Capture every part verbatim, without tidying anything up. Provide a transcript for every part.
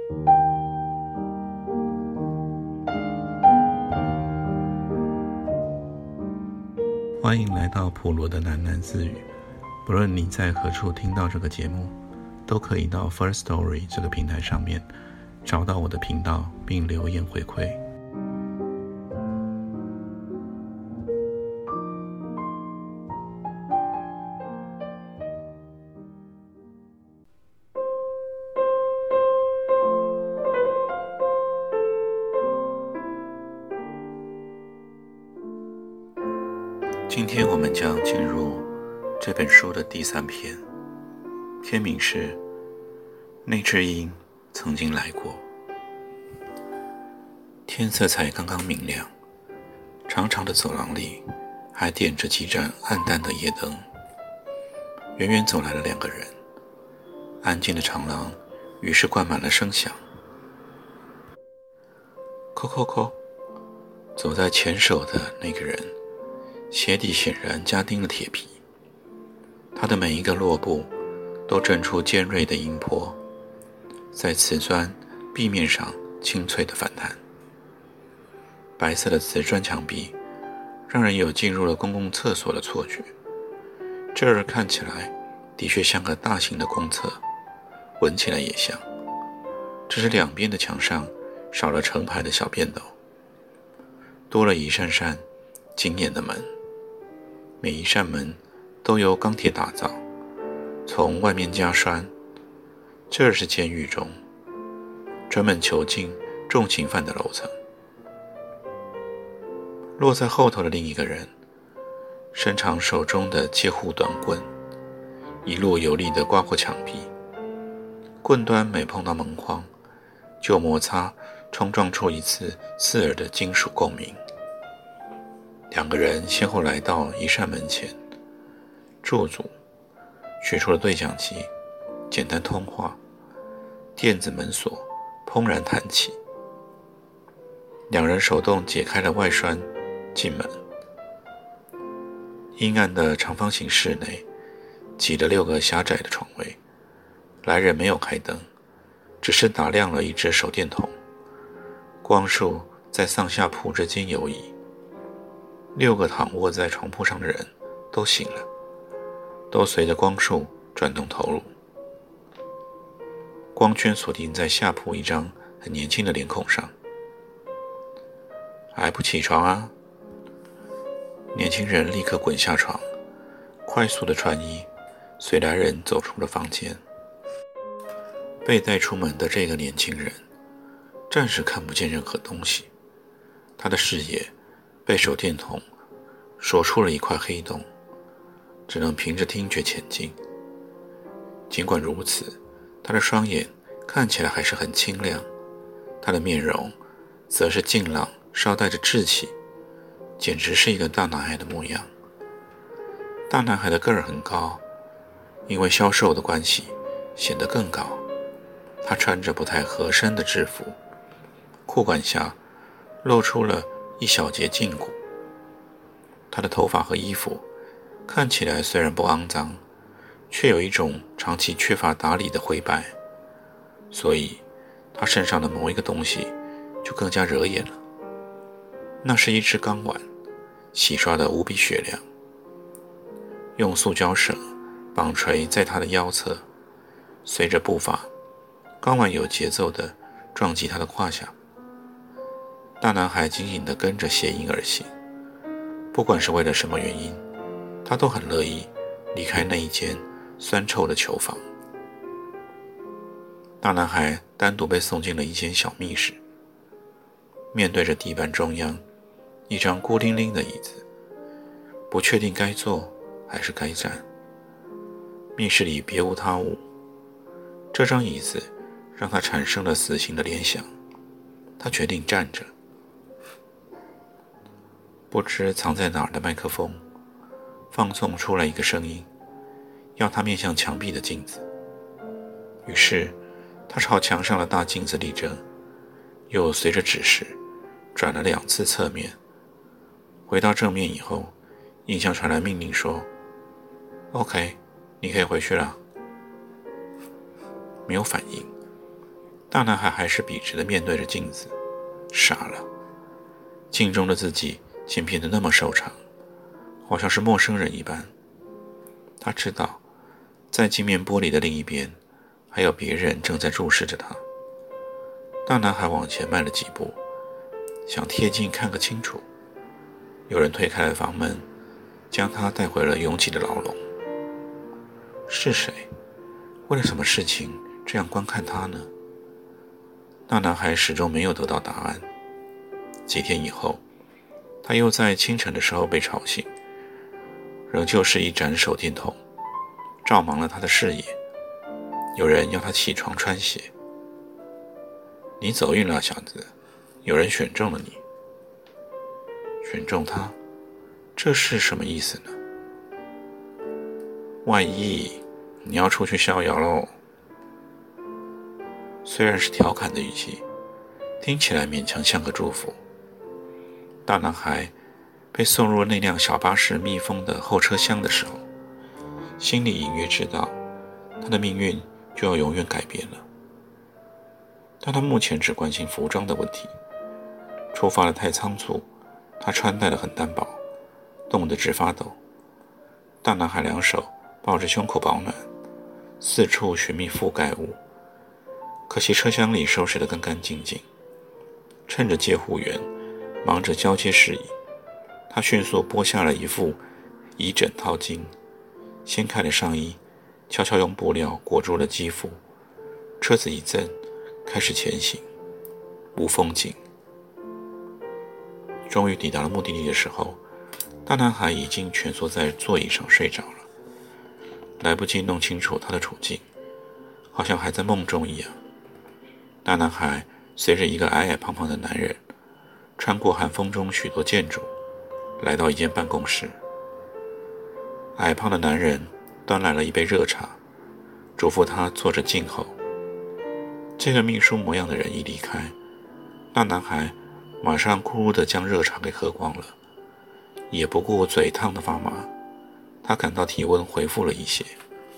欢迎来到普罗的喃喃自语。不论你在何处听到这个节目，都可以到 First Story 这个平台上面找到我的频道并留言回馈。今天我们将进入这本书的第三篇，篇名是那只鹰曾经来过。天色才刚刚明亮，长长的走廊里还点着几盏暗淡的夜灯。远远走来了两个人，安静的长廊于是灌满了声响。叩叩叩，走在前手的那个人鞋底显然加钉了铁皮，他的每一个落步都震出尖锐的音波，在瓷砖壁面上清脆的反弹。白色的瓷砖墙壁让人有进入了公共厕所的错觉，这儿看起来的确像个大型的公厕，闻起来也像，只是两边的墙上少了成排的小便斗，多了一扇扇惊艳的门。每一扇门都由钢铁打造，从外面加栓。这是监狱中专门囚禁重刑犯的楼层。落在后头的另一个人伸长手中的借护短棍，一路有力地刮过墙壁，棍端每碰到门框就摩擦冲撞出一次刺耳的金属共鸣。两个人先后来到一扇门前驻足，取出了对讲机，简单通话，电子门锁砰然弹起。两人手动解开了外栓，进门。阴暗的长方形室内挤了六个狭窄的床位，来人没有开灯，只是打亮了一只手电筒，光束在上下铺之间游移。六个躺卧在床铺上的人都醒了，都随着光束转动头颅。光圈锁定在下铺一张很年轻的脸孔上。还不起床啊？年轻人立刻滚下床，快速的穿衣，随来人走出了房间。被带出门的这个年轻人暂时看不见任何东西，他的视野被手电筒锁出了一块黑洞，只能凭着听觉前进。尽管如此，他的双眼看起来还是很清亮，他的面容则是静朗，稍带着稚气，简直是一个大男孩的模样。大男孩的个儿很高，因为销售的关系显得更高。他穿着不太合身的制服，裤管下露出了一小截胫骨。他的头发和衣服看起来虽然不肮脏，却有一种长期缺乏打理的灰白，所以他身上的某一个东西就更加惹眼了。那是一只钢碗，洗刷得无比雪亮，用塑胶绳绑垂在他的腰侧，随着步伐，钢碗有节奏地撞击他的胯下。大男孩紧紧地跟着鞋印而行，不管是为了什么原因，他都很乐意离开那一间酸臭的囚房。大男孩单独被送进了一间小密室，面对着地板中央一张孤零零的椅子，不确定该坐还是该站。密室里别无他物，这张椅子让他产生了死刑的联想，他决定站着。不知藏在哪儿的麦克风放送出来一个声音，要他面向墙壁的镜子。于是他朝墙上的大镜子立正，又随着指示转了两次侧面。回到正面以后，音箱传来命令说 OK， 你可以回去了。没有反应， 大男孩还是笔直地面对着镜子，傻了。镜中的自己竟变得那么瘦长，好像是陌生人一般。他知道，在镜面玻璃的另一边，还有别人正在注视着他。大男孩往前迈了几步，想贴近看个清楚。有人推开了房门，将他带回了拥挤的牢笼。是谁？为了什么事情这样观看他呢？大男孩始终没有得到答案。几天以后，他又在清晨的时候被吵醒，仍旧是一盏手电筒照盲了他的视野。有人要他起床穿鞋。你走运了，小子，有人选中了你。选中他，这是什么意思呢？外溢，你要出去逍遥喽。虽然是调侃的语气，听起来勉强像个祝福。大男孩被送入那辆小巴士密封的后车厢的时候，心里隐约知道他的命运就要永远改变了。但他目前只关心服装的问题，出发得太仓促，他穿戴得很单薄，冻得直发抖。大男孩两手抱着胸口保暖，四处寻觅覆盖物，可惜车厢里收拾得干干净净。趁着接护员忙着交接事宜，他迅速剥下了一副以枕套巾，掀开了上衣，悄悄用布料裹住了肌肤。车子一震，开始前行，无风景。终于抵达了目的地的时候，大男孩已经蜷缩在座椅上睡着了，来不及弄清楚他的处境，好像还在梦中一样。大男孩随着一个矮矮胖胖的男人，穿过寒风中许多建筑，来到一间办公室。矮胖的男人端来了一杯热茶，嘱咐他坐着静候。这个秘书模样的人一离开，大男孩马上咕噜地将热茶给喝光了，也不顾嘴烫得发麻。他感到体温恢复了一些，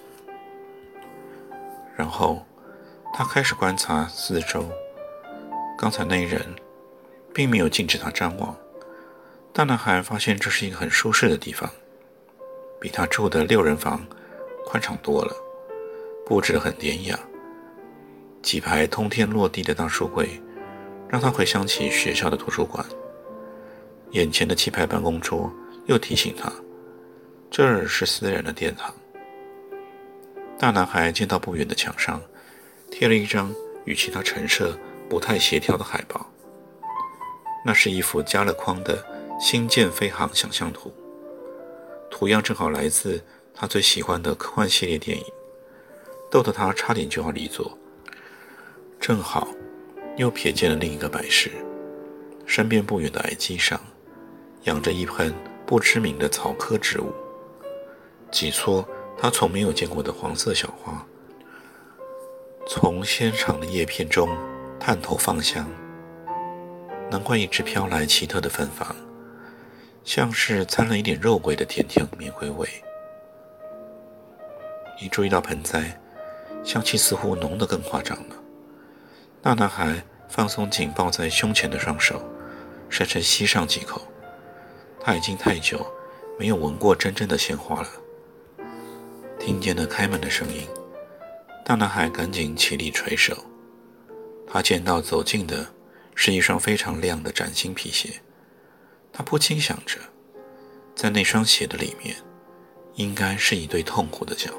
然后他开始观察四周。刚才那人并没有禁止他张望。大男孩发现这是一个很舒适的地方，比他住的六人房宽敞多了，布置得很典雅。几排通天落地的大书柜让他回想起学校的图书馆。眼前的气派办公桌又提醒他，这儿是私人的殿堂。大男孩见到不远的墙上贴了一张与其他陈设不太协调的海报，那是一幅加了框的星舰飞航想象图，图样正好来自他最喜欢的科幻系列电影，逗得他差点就要离座。正好又瞥见了另一个摆饰，身边不远的矮机上养着一盆不知名的草科植物，几撮他从没有见过的黄色小花从纤长的叶片中探头放香。难怪一直飘来奇特的芬芳，像是掺了一点肉桂的甜甜玫瑰味。一注意到盆栽，香气似乎浓得更夸张了。大男孩放松紧抱在胸前的双手，深深吸上几口。他已经太久没有闻过真正的鲜花了。听见了开门的声音，大男孩赶紧起立垂手。他见到走近的是一双非常亮的崭新皮鞋，他不禁想着，在那双鞋的里面应该是一对痛苦的脚。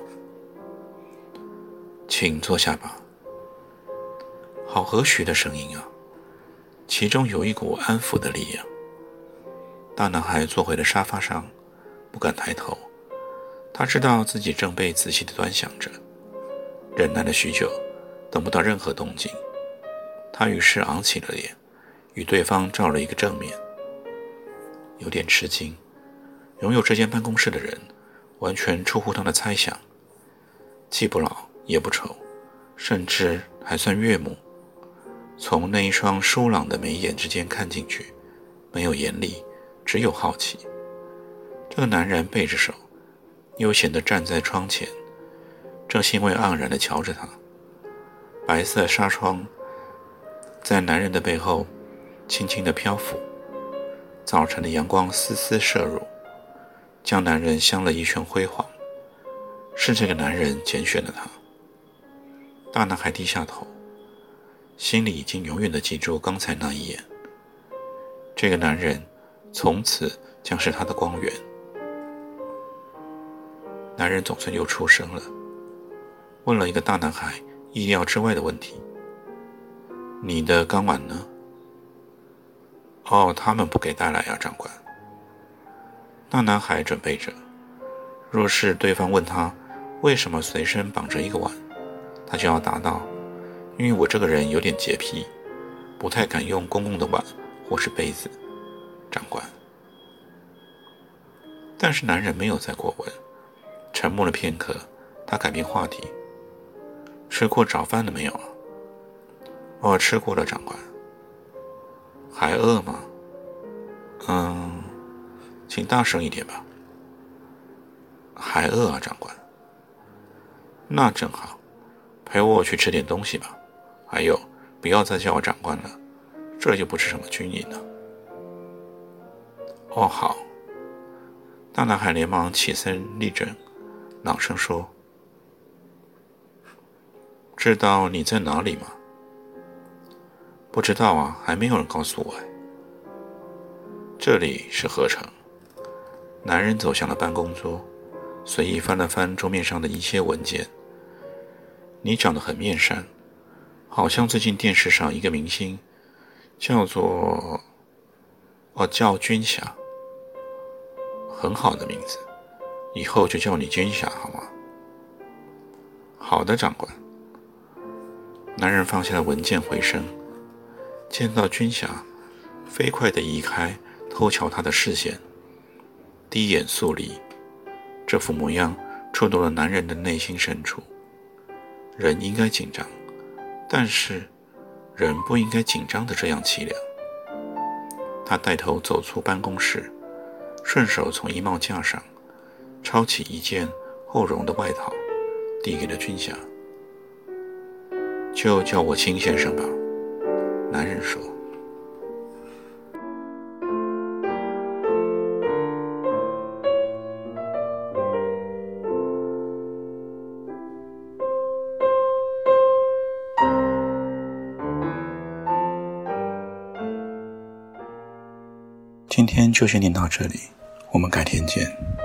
请坐下吧。好和煦的声音啊，其中有一股安抚的力量。大男孩坐回了沙发上，不敢抬头。他知道自己正被仔细地端详着，忍耐了许久，等不到任何动静。他于是昂起了脸，与对方照了一个正面。有点吃惊，拥有这间办公室的人完全出乎他的猜想，既不老也不丑，甚至还算悦目。从那一双疏朗的眉眼之间看进去，没有严厉，只有好奇。这个男人背着手，悠闲地站在窗前，正兴味盎然地瞧着他。白色纱窗在男人的背后轻轻地漂浮，早晨的阳光丝丝射入，将男人镶了一圈辉煌。是这个男人拣选了他。大男孩低下头，心里已经永远地记住刚才那一眼。这个男人从此将是他的光源。男人总算又出声了，问了一个大男孩意料之外的问题：你的钢碗呢？哦，他们不给带来呀，长官。大男孩准备着，若是对方问他为什么随身绑着一个碗，他就要答道：因为我这个人有点洁癖，不太敢用公共的碗或是杯子，长官。但是男人没有再过问，沉默了片刻，他改变话题：吃过早饭了没有啊？哦，吃过了，长官。还饿吗？嗯，请大声一点吧。还饿啊，长官。那正好，陪我去吃点东西吧。还有，不要再叫我长官了，这又不是什么军营了。哦，好。大男孩连忙起身立正，朗声说：知道你在哪里吗？不知道啊，还没有人告诉我。这里是合成。男人走向了办公桌，随意翻了翻桌面上的一些文件。你长得很面善，好像最近电视上一个明星，叫做……哦，叫军霞。很好的名字，以后就叫你军霞好吗？好的，长官。男人放下了文件，回身见到军霞，飞快地移开偷瞧他的视线，低眼肃立。这副模样触动了男人的内心深处。人应该紧张，但是人不应该紧张的这样凄凉。他带头走出办公室，顺手从衣帽架上抄起一件厚绒的外套，递给了军霞。就叫我秦先生吧，男人说。今天就先念到这里，我们改天见。